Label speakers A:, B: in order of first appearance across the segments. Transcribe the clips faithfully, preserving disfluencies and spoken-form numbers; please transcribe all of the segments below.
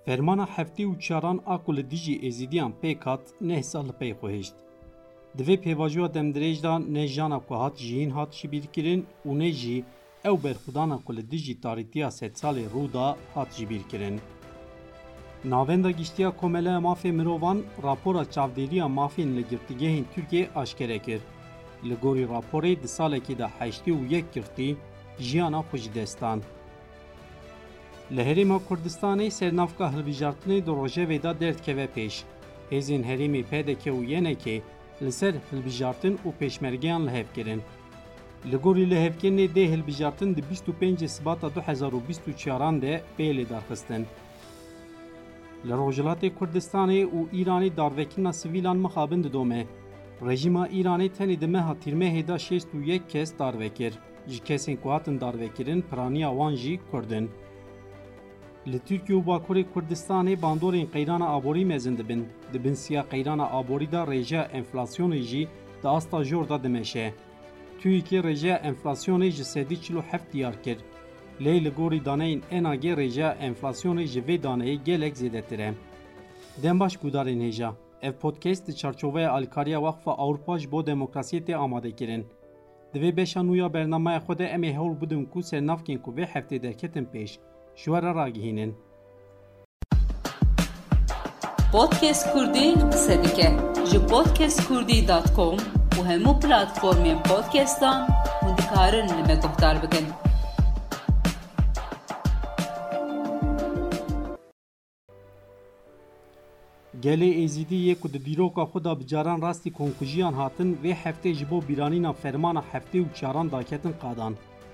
A: Fermana heftê û çaran a ku li dijî êzidiyan pêk hat neh sal li pey xwe hêşt. Di vê pêvajoya demdirêj de ne jana ku hat jiyîn hat jibîrkirin û ne jî ew berxwedana ku li dijî tarîtiya sed salê rû da hat jibîrkirin. Navenda giştiya Komeleya Mafê Mirovan rapora çavdêriya mafên li girtîgehên Tirkiye aşkere kir. Li gorî raporê di salekê de heştê û yek girtî jiyana xwe ji destan. Li Herêma Kurdistanê sernavka hilbijartinê di rojevê de derdkeve pêş. Hêzên Herêmê P D K û Y N K li ser hilbijartin û pêşmergeyan li hev kirin. Li gorî lihevkirinê dê hilbijartin di bîst û pêncê Sibata du hezar û bîst û çaran de pê lêdarxistin. Li Rojhilatê Kurdistanê û Îranê darvekirina sivîlan mixabin didome. Rejîma Îranê tenê di meha tîrmehê de şêst û yek kes darvekir. Ji kesên ku hatin darvekirin piraniya wan jî Kurdin. Li Tirkiye û Bakurê Kurdistanê bandorên qeyrana aborî mezin dibin. Di bin siya qeyrana aborî de rêjeya enflasyonê jî di asta jor da dimeşe. TÜİKê rêjeya enflasyonê ji sedî çil û heft diyar kir. Lê li gorî daneyên N A G rêjeya enflasyonê ji vê daneyê gelek zêdetir e. Dembaş gudarên hêja. Ev podcast di çarçoveya alîkariya Waqfa Awropa ji bo demokrasiyê tê amadekirin. Di vê beşa nû ya bernameya xwe de em ê hewl bidin ku sernavkên ku vê heftê derketin pêş ji we re ragihînin.
B: Podcast Kurdî qise dike ji podcast kurdî dot com û hemû platformên podcastan hûn dikarin li me guhdar bikin.
A: Gelê Êzîdî yê ku di dîroka xwe da bi caran rastî konkujiyan hatin vê heftê ji bo bîranîna fermana heftê û çaran daketin qadan.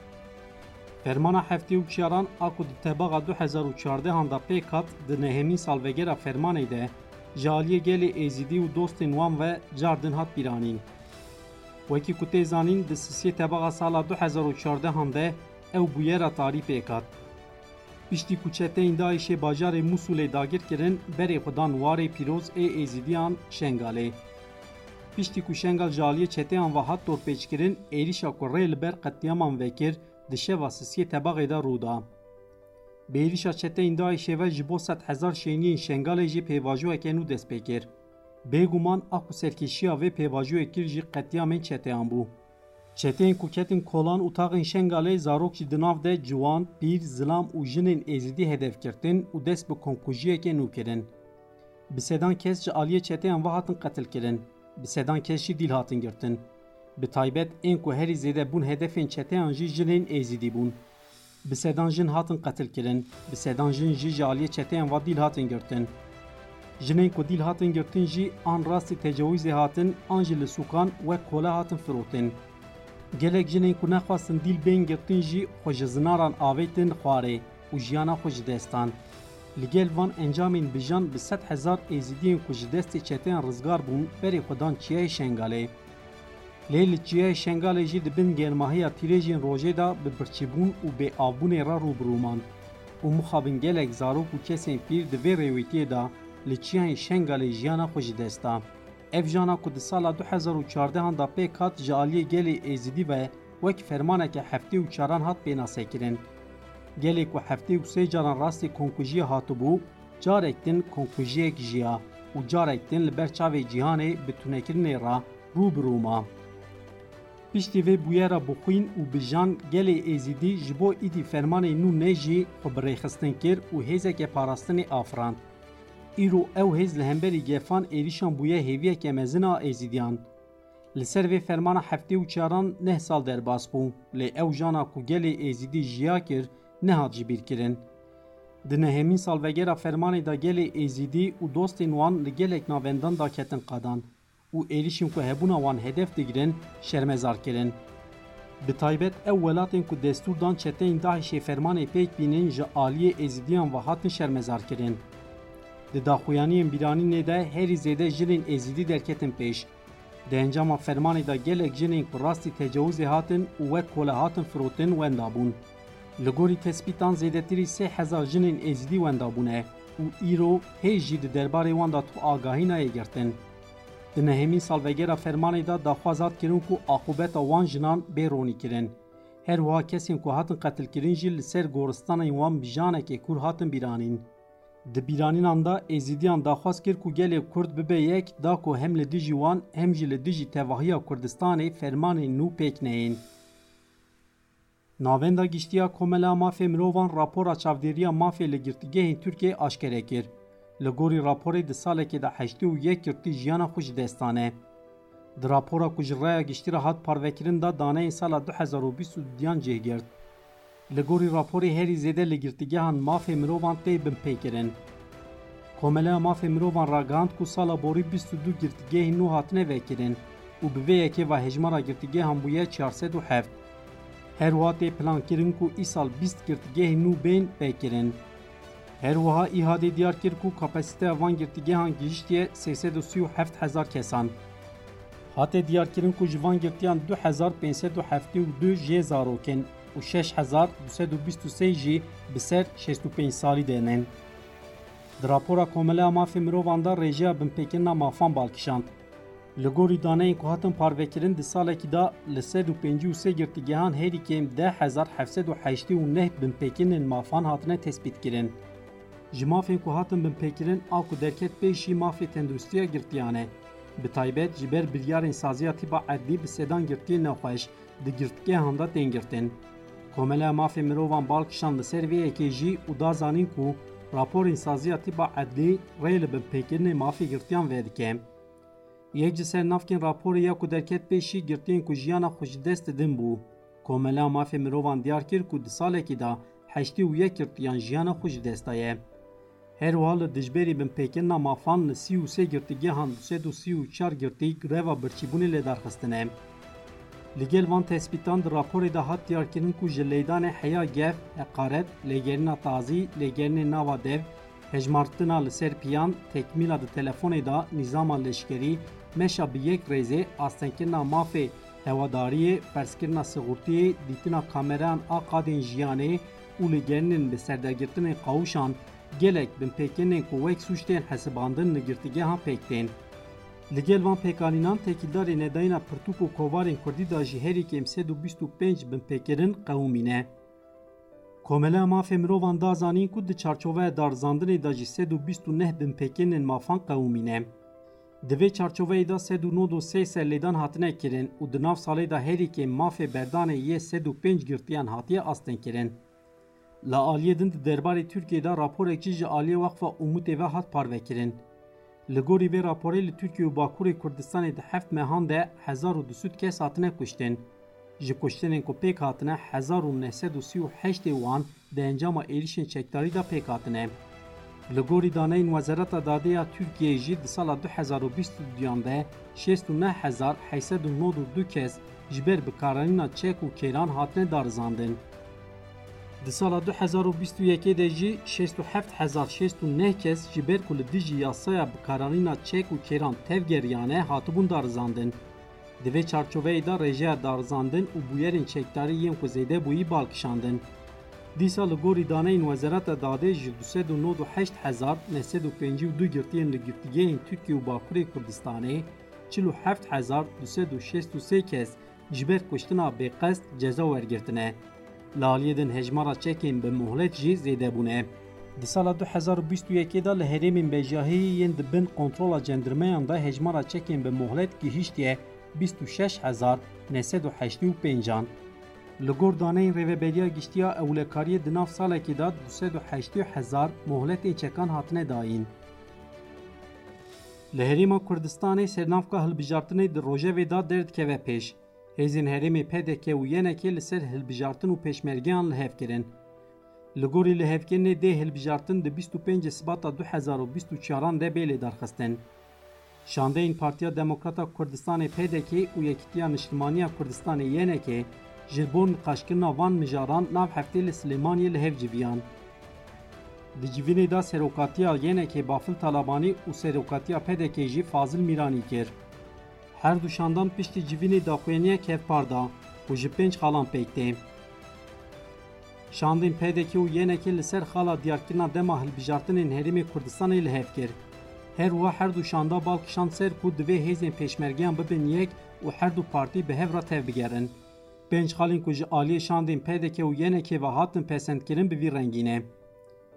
A: Fermana heftê û çaran a ku di tebaxa du hezar û çardehan da pêk hat di nehemîn salvegera fermanê de ji aliyê gelê Êzîdî û dostên wan ve cardin hat bîranîn. Wekî ku tê zanîn di sisiyê tebaxa sala du hezar û çardehan de ew bûyera tarî pêk hat. Piştî ku çeteyên Daişê bajarê Musulê dagir kirin, berê xwe dan warê pîroz ê Êzidiyan Şengalê. Piştî ku Şengal ji aliyê çeteyan ve hat torpêçkirin, êrişa ku rê li ber qetiyaman vekir di şeva sisiyê tebaxê de rû da. Bi êrişa çeteyên Daişê ve ji bo sed hezar şeniyên Şengalê jî pêvajoyeke nû dest pê kir. Bêguman a ku serkêşiya vê pêvajoyê kir jî qetiyamên çeteyan bû. Çeteyên ku ketin kolan û taxên Şengalê zarok jî di nav de ciwan, pîr, zilam û jinên Êzîdî hedef girtin û dest bi konkujiyekê nû kirin. Bi sedan kes ji aliyê çeteyan ve hatin qetil kirin. Bi sedan kes jî dîl hatin girtin. Bi taybet ên ku herî zêde bûn hedefên çeteyan jî jinên Êzîdî bûn. Bi sedan jin hatin qetil kirin. Bi sedan jin jî ji aliyê çeteyan ve dîl hatin girtin. Jinên ku dîl hatin girtin jî an rastî tecawûzê hatin, an jî li sûkan wek kola hatin firotin. Gelek jinên ku nexwastin dîl bên girtin jî xwe ji zinaran avêtin xwarê û jiyana xwe ji destan. Li gel van encamên bijan bi sed hezar Êzîdiyên ku ji destê çeteyan rizgar bûn berê xwe dan Çiyayê Şengalê. Lê li Çiyayê Şengalê jî di bin germahiya tîrêjên rojê da bi birçîbûn û bêavbûnê re rûbirûman û mixabin gelek zarok û kesên pîr di vê rêwîtiyê da li Çiyayê Şengalê jiyana xwe ji desta. Ev jana ku di sala du hezar û çardehan da pêk hat ji aliyê gelê Êzîdî ve wek fermaneke heftê û çaran hat pênasekirin. Gelê ku heftê û sê caran rastî konkujiye hatibû, carek din konkujiyek jiya û carek din li ber çavê cîhanê bi tunekirinê ra rûbirûma. Piştî vê bûyera bixwîn û bijan gelê Êzîdî ji bo îdî fermanê nû ne jî xwe bi rêxistin kir û hêzeke parastinê afirand. Îro ew hêz li hemberî gefan êrişan bûye hêviyeke mezin a Êzîdiyan. Li ser vê fermana heftê û çaran neh sal derbas bû, lê ew jana ku gelê Êzîdî jiya kir nehat jî bîrkirin. Di nehemîn salvegera fermanê da gelê Êzîdî û dostên wan li gelek navendan da ketin qadan û êrişên ku hebûna wan hedef digirin şermezar kirin. Bi taybet ew welatên ku destûr dan çeteyên Daişê fermanê pêk bînin ji aliyê Êzîdiyan ve hatin şermezar kirin. Di daxuyaniyên bîranînê de herî zêde jinên Êzîdî derketin pêş. Di encama fermanê da gelek jinên ku rastî tecawûzê hatin û wek kola hatin firotin wenda bûn. Li gorî tespîtan zêdetirî sê hezar jinên Êzîdî wenda bûne û îro hêj jî di derbarê wan da tu agahînayê girtin. Di nehemîn salvegera fermanê da daxwaz hat kirin ku axubeta wan jinan bêronî kirin. Her wiha kesên ku hatin qetilkirin jî li ser goristanên wan bijanekê kûr hatin bîranîn. Di bîranînan da êzidiyan daxwaz kir ku gelê Kurd bibe yek da ku hem li dijî wan hem jî li dijî tevahiya Kurdistanê fermanên nû pêk neyên. Navenda giştiya Komela Mafê Mirovan rapora çavdêriya mafê li girtîgehên Tirkiyeyê aşkere kir. Li gorî raporê di salekê de heştê û yek girtî jiyana xwe ji destan e. Di rapora ku ji raya giştî re hat parvekirin da daneyên sala du hezar û bîst û duyan cêgirt. Li gorî raporê herî zêde li girtîgehan mafê mirovan tê binpêkirin. Komeleya Mafê Mirovan ragihand ku sala borî bîst û du girtîgehên nû hatine vekirin û bi vê yekê ve hejmara girtîgehan bûye çar sed û heft. Her wiha tê plankirin ku îsal bîst girtîgehên nû bên vekirin. Her wiha îhadê diyar kir ku kapasiteya van girtîgehan gihîştiye sê sed û sî û heft hezar kesan. Hatê diyarkirin ku ji van girtiyan du hezar pênc sed û heftê û du jê zarokên û şeş hezar du sed û bîst û sê jî bi ser şêst û pênc salî denin. Di rapora Komeleya Mafê Mirovan da rêjeya binpêkirina mafan balkişand. Li gorî daneyên ku hatin parvekirin di salekî da li sed û pêncî û sê girtîgehan herî kêm deh hezar heft sed û heştê û neh binpêkirên mafan hatine tespîtkirin. Ji mafên ku hatin binpêkirin a ku derket pêşî mafê tendurustiya girtiyan e. Bi taybet ji ber biryarên saziya tîpa edlî bi sedan girtiyên nexweş di girtîgehan da tên girtin. Komeleya Mafê Mirovan balkişand li ser vê yekê jî û da zanîn ku raporên saziya tîpa edlî rê li binpêkirinê mafê girtiyan vedike. Yek ji ser navkên raporê ya ku derket pêşî girtiyên ku jiyana xwe ji dest didin bû. Komeleya Mafê Mirovan diyar kir ku di salekî da heştê û yek girtiyan jiyana xwe ji dest daye. Her wiha li dijberî binpêkirina mafan li sî û sê girtîgehan du sed û sî û çar girtî greva birçîbûnê lêdarxistine. Li gel van tespîtan di raporê de hat diyarkirin ku ji lêdanê heya gev, heqaret, lêgerîna tazî, lêgerînê nava dev, hejmartina li ser piyan, tekmîla di telefonê da nîzama leşkerî, meşa bi yek rêzê, astenkirina mafê hewadariyê, ferskirina sigortiyê, dîtina kamerayan a qadên jiyanê û lêgerînên bi serdegirtinên qawûşan gelek binpêkirинên ku wek sûç tên hesibandin li girtîgehan pêk tên. Li gel van pêkanînan tekîldarê nedayîna pirtûk û kovarên Kurdî da jî herî kêm sed û bîst û pênc binpêkirin qewûmîne. Komeleya Mafê Mirovan da zanîn ku di çarçoveya darizandinê da jî sed û bîst û neh binpêkirинên mafan qewûmîne. Di vê çarçoveyê da sed û nod û sê serlêdan hatine kirin û di nav salê da herî kêm mafê berdanê yê sed û pênc girtiyan hatiye astênkirin. La aliyê din di derbarê Tirkiyeyê da raporekî ji aliyê Waqfa Umûtê ve hat parvekirin. Li gorî vê raporê li Tirkiye û Bakurê Kurdistanê di heft mehan de hezar û du sûd kes hatine kuştin. Ji kuştinên ku pêk hatine hezar û neh sed û sî û heştê wan di encama êrişên çekdarî da pêk hatine. Li gorî daneyên Wezareta Dadê Tirkiyeyê jî di sala du hezar û bîst û duyan de şêst û neh hezar heyset û nod û du kes ji ber bikaranîna çek û kêran hatine darizandin. Di sala du hezar û bîst û yekê de jî şêst û heft hezar şêst û neh kes ji ber ku li dijî yasaya bikaranîna çek û kêran tevgeriyane hatibûn darizandin. Di vê çarçoveyê da rêjeya darizandin û bûyerên çekdarî yên ku zêde bûyî balkişandin. Dîsa li gorî daneyên Wezareta Dadê ji du sed û nod û heşt hezar neh sed û pêncî û du girtiyên li girtîgehên Tirkiye û Bakurê Kurdistanê çil û heft hezar du sed û şêst û sê kes ji ber kuştina bêqesd ceza wergirtine. Li aliyê din hejmara çekên bi muhlet jî zêde bûne. Di sala du hezar û bîst û yekê da li herêmên bejahiyê yên di bin kontrola cendirmeyan da hejmara çekên bi muhlet gihîştiye bîst û şeş hezar neh sed û heştê û pêncan. Li gor daneyên rêveberiya giştiya ewlekariyê di nav salekê da du sed û heştê hezar muhletên çekan hatine dayîn. Li Herêma Kurdistanê sernavka hilbijartinê di rojevê da derdikeve pêş. Hêzên Herêmê P D K û yenekê li ser hilbijartin û pêşmergeyan li hev kirin. Li gorî li hevkirinê dê hilbijartin di bîst û pêncê Sibata du hezar û bîst û çaran de bê lêdarxistin. Şandeyên Partiya Demokrata Kurdistanê P D K û Yekîtiya Niştimaniya Kurdistanê yenekê ji bo nîqaşkirina van mijaran nav heftê li Silêmaniyê li hev civiyan. Di civînê da serokatiya yenekê Bafil Talabanî û serokatiya P D K jî Fazil Mîranî kir. Her du şandan piştî civînê daxuyaniyek hevpar da û ji pênc xalan pêk tê. Şandên P D K û yenekê li ser xala diyarkirina dema hilbijartinên Herêmê Kurdistanê li hev kir. Her wiha her du şanda balkişand ser ku divê hêzên pêşmergeyan bibin yek û her du partî bi hev re tev bigerin. Pênc xalên ku ji aliyê şandên P D K û yenekê ve hatin pesendkirin bi vî rengîne.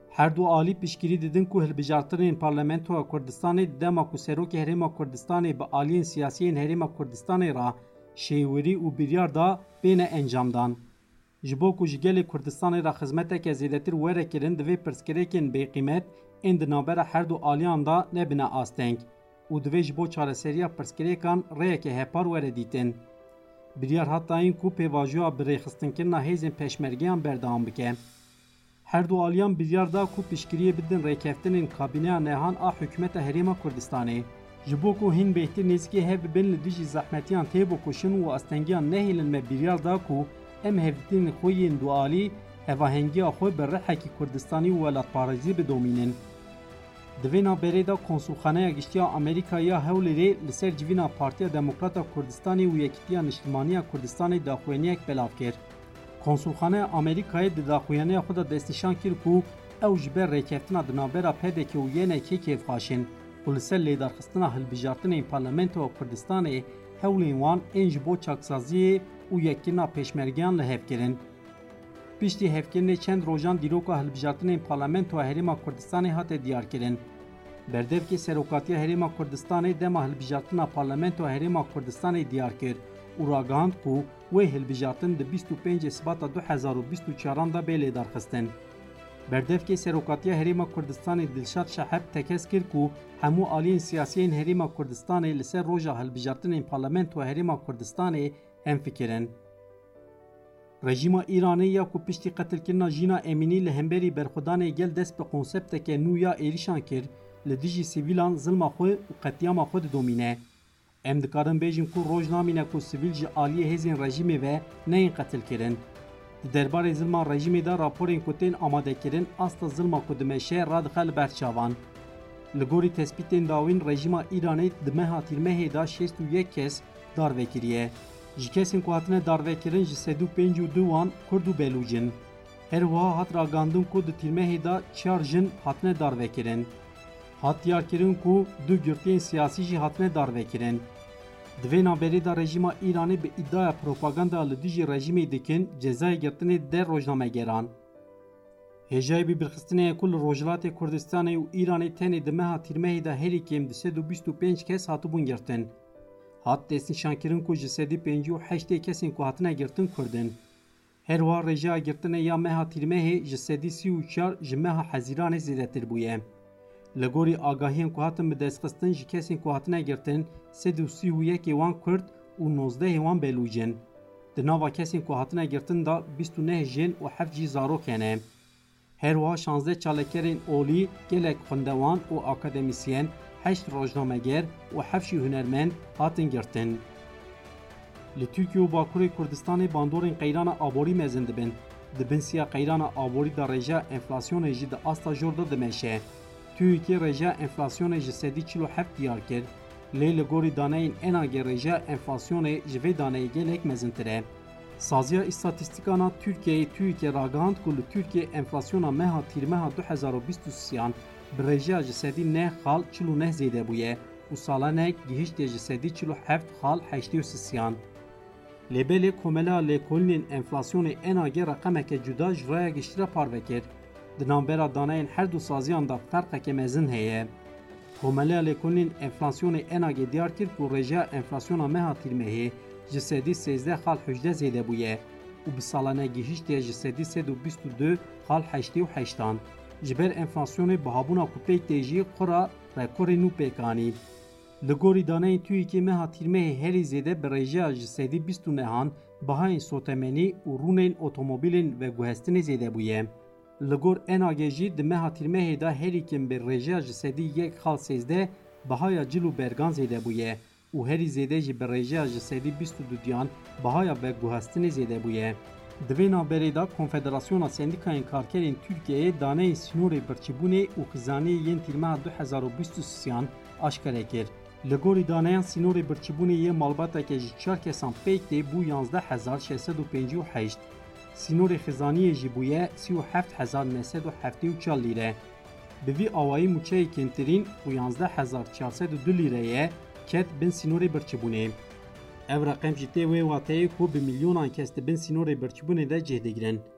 A: Her du alî piştgirî didin ku hilbijartinên Parlamentoya Kurdistanê dema ku Serokê Herêma Kurdistanê bi aliyên siyasî yên Herêma Kurdistanê ra şêwirî û biryar da bêne encamdan. Ji bo ku ji gelê Kurdistanê ra xizmeteke zêdetir were kirin divê pirsgirêkên bêqîmet ên di navbera her du aliyan da nebine asteng û divê ji bo çareseriya pirsgirêkan rêyeke hepar were dîtin. Biryar hat dayîn ku pêvajoya bi rêxistinkirinê hêzên peşmergeyan berdewam bike. Her du aliyan biryar da ku piştgiriyê bidin rêkeftinên kabîneya nehan a hikûmeta Herêma Kurdistanê. Ji bo ku hîn bêhtir nêzîkî hev bibin li dijî zehmetiyan têbûkuşin û astengiyan nehêlin me biryar da ku em hevdîtinên xwe yên du alî hevahengiya xwe bi rihekî Kurdistanî û welatparêzî bidomînin. Di vê naberê de Konsulxaneya Giştiya Amerîkayê ya Hewlêrê li ser civîna Partiya Demokrata Kurdistanê û Yekîtiya Niştimaniya Kurdistanê daxuyaniyek belav kir. Konsulxaneya Amerîkayê di daxuyaniya xwe de destnîşan kir ku ew ji ber rêkeftina di navbera pedekê û yênekê kêfxaşin û li ser lêdarxistina hilbijartinên Parlamentoya Kurdistanê hewlên wan ên ji bo çaksaziyê û yekkirina pêşmergeyan li hev kirin. Piştî hevkirinê çend rojan dîroka hilbijartinên Parlamentoya Herêma Kurdistanê hate diyarkirin. Berdevkê Serokatiya Herêma Kurdistanê dema hilbijartina Parlamentoya Herêma Kurdistanê diyar kir û ragihand ku wê hilbijartin di bîst û pêncê Sibata du hezar û bîst û çaran da bê lêdarxistin. Berdevkê Serokatiya Herêma Kurdistanê Dilşad Şeheb tekez kir ku hemû aliyên siyasî yên Herêma Kurdistanê li ser roja hilbijartinên Parlamentoya Herêma Kurdistanê hemfikirin. Rejîma Îranê ya ku piştî qetilkirina Jîna Emînî li hemberî berxwedanê gel dest bi konsepteke nû ya êrîşan kir li dijî sivîlan zilma xwe û qetiyama xwe didomîne. Em dikarin bêjin ku roj namîne ku sivîl ji aliyê hêzên rejîmê ve neyên qetilkirin. Di derbarê zilma rejîmê de raporên ku tên amadekirin asta zilma ku dimeşe radixe li ber çavan. Li gorî tespîtên dawîn rejîma Îranê di meha tîrmehê da şêst û yek kes darvekiriye. Ji kesên ku hatine darvekirin ji sed û pênc û du wan Kurd û Belûc in. Her wiha hat ragandin ku di tîrmehê da çar jin hatine darvekirin. Hat diyarkirin ku du girtiyên siyasî jî hatine darvekirin. Di vê naberê de rejîma Îranê bi îddia propaganda li dijî rejîmê dikin cezayê girtinê der rojnamegeran. Hêjayê bîrxistinê ku li Rojhilatê Kurdistanê û Îranê tenê di meha tîrmehê de herî kêm di sed û bîst û pênc kes hatibûn girtin. Hat destnîşankirin ku ji sedî pêncî û heştê kesên ku hatine girtin Kurdin. Her wiha rêjeya girtinê ya meha tîrmehê ji sedî sî û çar ji meha Hezîranê zêdetir bûye. Li gorî agahiyên ku hatin bi destxistin ji kesên ku hatine girtin sed û sî û yekê wan Kurd û nozdehê wan Belûc in. Di nava kesên ku hatine girtin da bîst û neh jin û heft jî zarok hene. Her wiha şanzdeh çalekerên olî, gelek xwendewan û akademisyen, heşt rojnameger û heft jî hunermend hatin girtin. Li Tirkiye û Bakurê Kurdistanê bandorên qeyrana aborî mezin dibin. Di binsiya qeyrana aborî da rêjeya enflasyonê jî di asta jor da dimeşe. Tirkiye rêjeya enflasyonê ji sedî çil û heft diyar kir. Lê li gorî daneyên enagê rêjeya enflasyonê ji vê daneyê gelek mezintir e. Saziya îstatîstîkana Tirkiyeyê Tirkiye ragihand ku li Tirkiye enflasyona meha tîrmeha du hezar û bîst û sîyan bi rêjeya ji sedî neh xal çil û neh zêde bûye û salanek gihîştê ji sedî çil û heft xal heştê û sîyan. Lêbelê komela lêkolînên enflasyonê enagê reqemeke cuda ji raya giştî re parve kir. Di navbera daneyên her du saziyan da ferqeke mezin heye. Komela lêkolînên enflasyonê enagê diyar kir ku rêjeya enflasyona meha tîrmehê ji sedî sêzdeh xal hejde zêde bûye û bi salanek gihîştê ji sedî sed û bîst û du xal heştê û heştan. Ji ber enflasyonê bihabûna kupeyk tê jî xura rekorê nû pêkanî. Li gorî daneyên Tirkiye meha tîrmehê herî zêde bi rêjeya ji sedî bîst û nehan bihayên sotemenî û rûnên otomobîlên veguhestinê zêde bûye. Li gor enagê jî di meha tîrmehê de herî kêm bi rêjeya ji sedî yek xal sêzdeh bihaya cil û bergan zêde bûye û herî zêde jî bi rêjeya ji sedî bîst û du diyan bihaya veguhestinê zêde bûye. Di vê naberê de Konfederasyona Sendîkayên Karkerên Tirkiyeyê daneyên sînorê birçîbûnê û xizaniyê yên tîrmeha du hezar û bîst û sîyan aşkare kir. Li gorî daneyan sînorê birçîbûnê yê malbateke ji çar kesan pêk tê bû yanzdeh hezar şêst sed û pêncî û heşt. Sînorê xizaniyê jî bûye sî û heft hezar neh sed û heftê û çar lîre. Bi vî awayî mûçeyê kêntirîn û yanzdeh hezar çar sed û du lîreyê ket bin sînorê birçîbûnê. Ev reqem jî tê wê wateyê ku bi milyonan kes dibin sînorê birçîbûnê de cih digirin.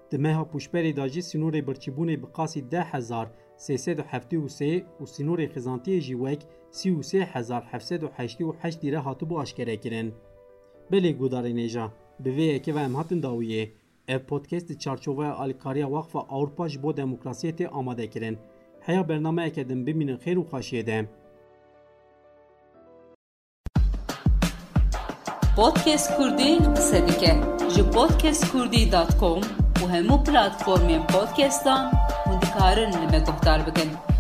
A: Di meha puşberê da jî sînorê birçîbûnê bi qasî deh hezar sê sed û heftê û sê û sînorê xizantiyê jî wek sî û sê hezar heft sed û heştê û heşt dîre hatibû aşkerekirin. Belê gudarên êja, bi vê yekê ve em hatin dawiyê. Ev podcast di çarçoveya alîkariya Waqfa Awropa ji bo demokrasiyê tê amadekirin. Heya bernameyeke din bimînin xêr û xweşiyê de.
B: Podcast Kurdî qise dike ji podcast kurdî dot com û hemû platformên podcastan hûn dikarin li me guhdar bikin.